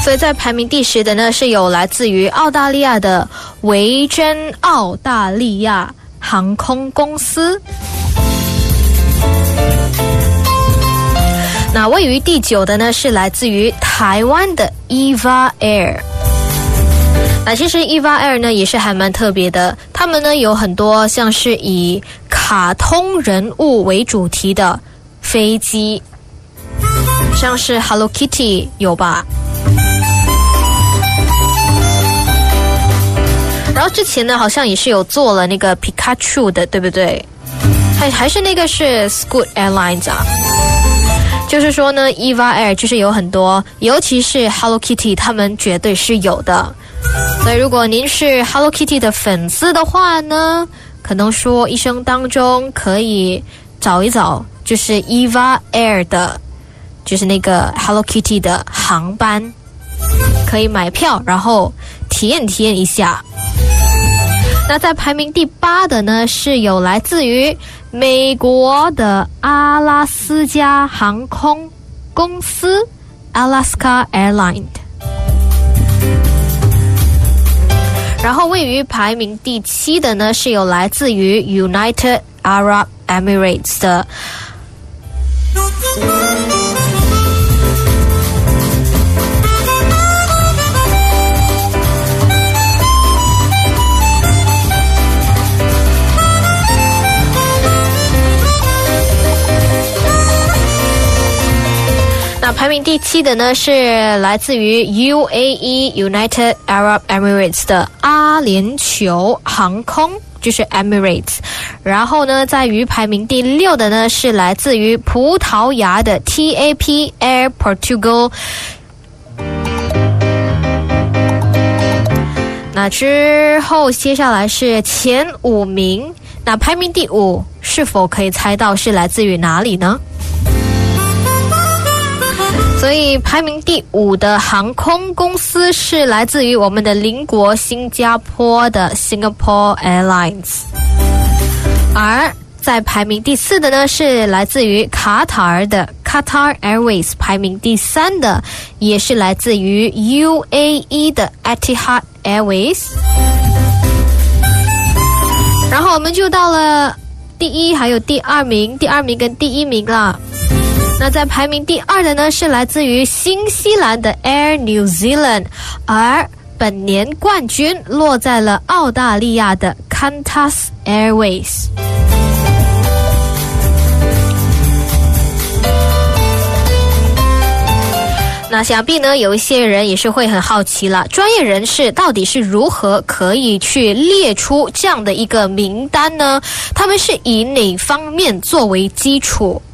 所以在排名第10的呢，是有来自于澳大利亚的维珍澳大利亚航空公司。那位于第9的呢，是来自于台湾的 EVA Air。那其实 EVA Air 呢也是还蛮特别的，他们呢有很多像是以卡通人物为主题的飞机，像是 Hello Kitty 有吧？然后之前呢好像也是有做了那个 Pikachu 的，对不对？还是那个是 Scoot Airlines 啊。就是说呢 EVA Air 就是有很多，尤其是 Hello Kitty 他们绝对是有的。所以如果您是 Hello Kitty 的粉丝的话呢，可能说一生当中可以找一找就是 EVA Air 的就是那个 Hello Kitty 的航班，可以买票然后体验一下。那在排名第8的呢，是有来自于美国的阿拉斯加航空公司 Alaska Airlines。然后位于排名第7的呢，是有来自于 United Arab Emirates 的那排名第7的呢，是来自于 UAE United Arab Emirates 的阿联酋航空，就是 Emirates。然后呢，在于排名第6的呢，是来自于葡萄牙的 TAP Air Portugal。那之后接下来是前5名，那排名第5是否可以猜到是来自于哪里呢？所以排名第5的航空公司是来自于我们的邻国新加坡的 Singapore Airlines， 而在排名第4的呢，是来自于卡塔尔的 Qatar Airways， 排名第3的也是来自于 UAE 的 Etihad Airways。 然后我们就到了第1还有第2名，第2名跟第1名啦。那在排名第2的呢，是来自于新西兰的 Air New Zealand， 而本年冠军落在了澳大利亚的 Qantas Airways。 那想必呢有一些人也是会很好奇了，专业人士到底是如何可以去列出这样的一个名单呢？他们是以哪方面作为基础